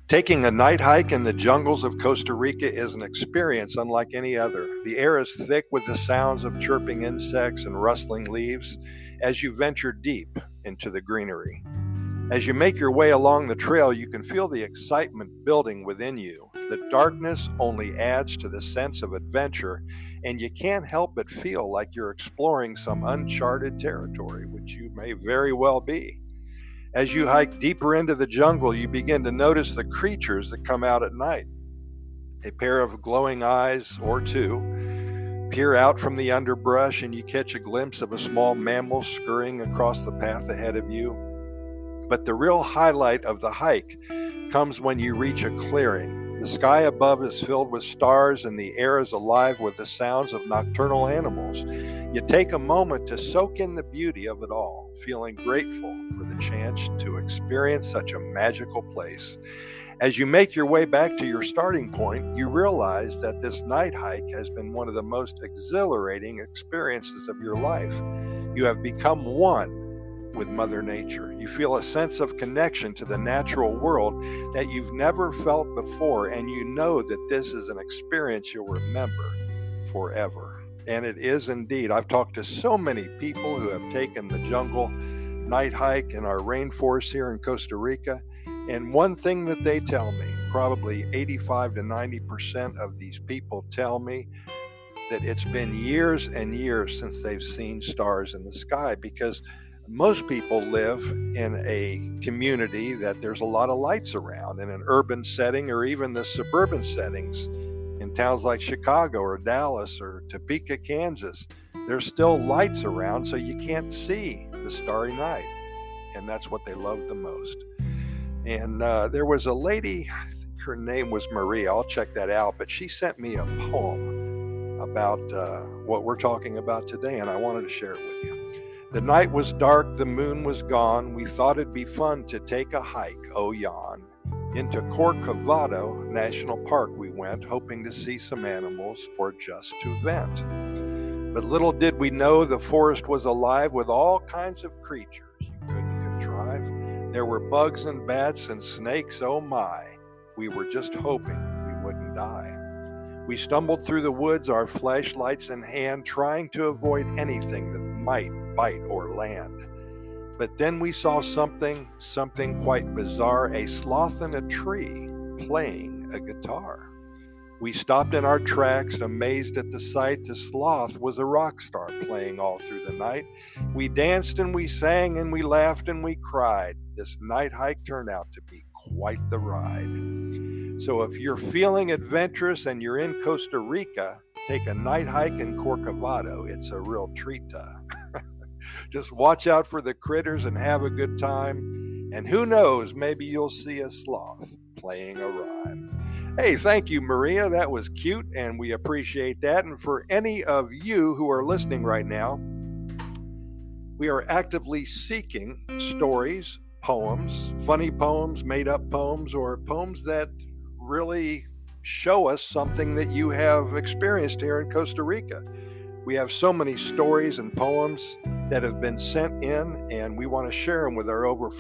Taking a night hike in the jungles of Costa Rica is an experience unlike any other. The air is thick with the sounds of chirping insects and rustling leaves as you venture deep into the greenery. As you make your way along the trail, you can feel the excitement building within you. The darkness only adds to the sense of adventure, and you can't help but feel like you're exploring some uncharted territory, which you may very well be. As you hike deeper into the jungle, you begin to notice the creatures that come out at night. A pair of glowing eyes, or two, peer out from the underbrush, and you catch a glimpse of a small mammal scurrying across the path ahead of you. But the real highlight of the hike comes when you reach a clearing. The sky above is filled with stars, and the air is alive with the sounds of nocturnal animals. You take a moment to soak in the beauty of it all, feeling grateful for the chance to experience such a magical place. As you make your way back to your starting point, you realize that this night hike has been one of the most exhilarating experiences of your life. You have become one with Mother Nature. You feel a sense of connection to the natural world that you've never felt before, and you know that this is an experience you'll remember forever. And it is indeed. I've talked to so many people who have taken the jungle night hike in our rainforest here in Costa Rica, and one thing that they tell me, probably 85 to 90% of these people tell me that it's been years and years since they've seen stars in the sky, because most people live in a community that there's a lot of lights around, in an urban setting or even the suburban settings in towns like Chicago or Dallas or Topeka, Kansas. There's still lights around, so you can't see the starry night, and that's what they love the most. And there was a lady, I think her name was Maria, I'll check that out, but she sent me a poem about what we're talking about today, and I wanted to share it with you. The night was dark, the moon was gone. We thought it'd be fun to take a hike, oh yon. Into Corcovado National Park we went, hoping to see some animals or just to vent. But little did we know the forest was alive with all kinds of creatures you couldn't contrive. There were bugs and bats and snakes, oh my. We were just hoping we wouldn't die. We stumbled through the woods, our flashlights in hand, trying to avoid anything that might bite or land. But then we saw something quite bizarre, a sloth in a tree playing a guitar. We stopped in our tracks, amazed at the sight. The sloth was a rock star playing all through the night. We danced and we sang and we laughed and we cried. This night hike turned out to be quite the ride. So if you're feeling adventurous and you're in Costa Rica, take a night hike in Corcovado. It's a real treat. Just watch out for the critters and have a good time. And who knows, maybe you'll see a sloth playing a rhyme. Hey, thank you, Maria. That was cute, and we appreciate that. And for any of you who are listening right now, we are actively seeking stories, poems, funny poems, made-up poems, or poems that really show us something that you have experienced here in Costa Rica. We have so many stories and poems that have been sent in, and we want to share them with our over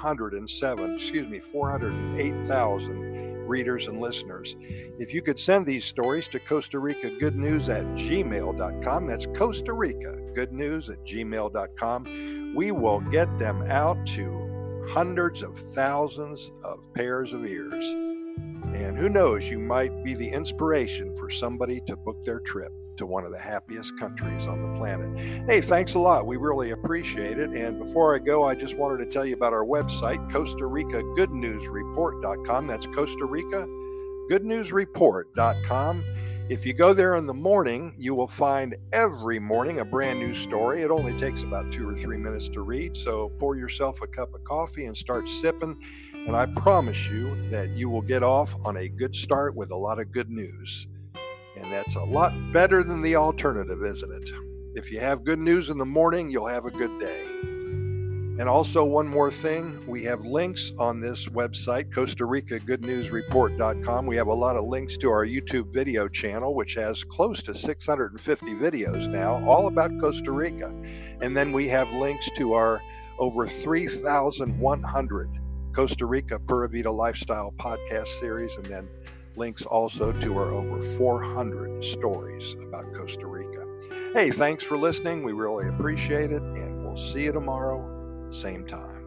408,000 readers and listeners. If you could send these stories to Costa Rica Good News at gmail.com, that's Costa Rica Good News at gmail.com, we will get them out to hundreds of thousands of pairs of ears. And who knows, you might be the inspiration for somebody to book their trip to one of the happiest countries on the planet. Hey, thanks a lot. We really appreciate it. And before I go, I just wanted to tell you about our website, Costa Rica Good News Report.com. That's Costa Rica Good News Report.com. If you go there in the morning, you will find every morning a brand new story. It only takes about 2 or 3 minutes to read. So pour yourself a cup of coffee and start sipping. And I promise you that you will get off on a good start with a lot of good news. And that's a lot better than the alternative, isn't it? If you have good news in the morning, you'll have a good day. And also one more thing, we have links on this website, Costa Rica Good News Report.com. We have a lot of links to our YouTube video channel, which has close to 650 videos now, all about Costa Rica. And then we have links to our over 3,100 Costa Rica Pura Vida Lifestyle podcast series, and then links also to our over 400 stories about Costa Rica. Hey, thanks for listening. We really appreciate it, and we'll see you tomorrow, same time.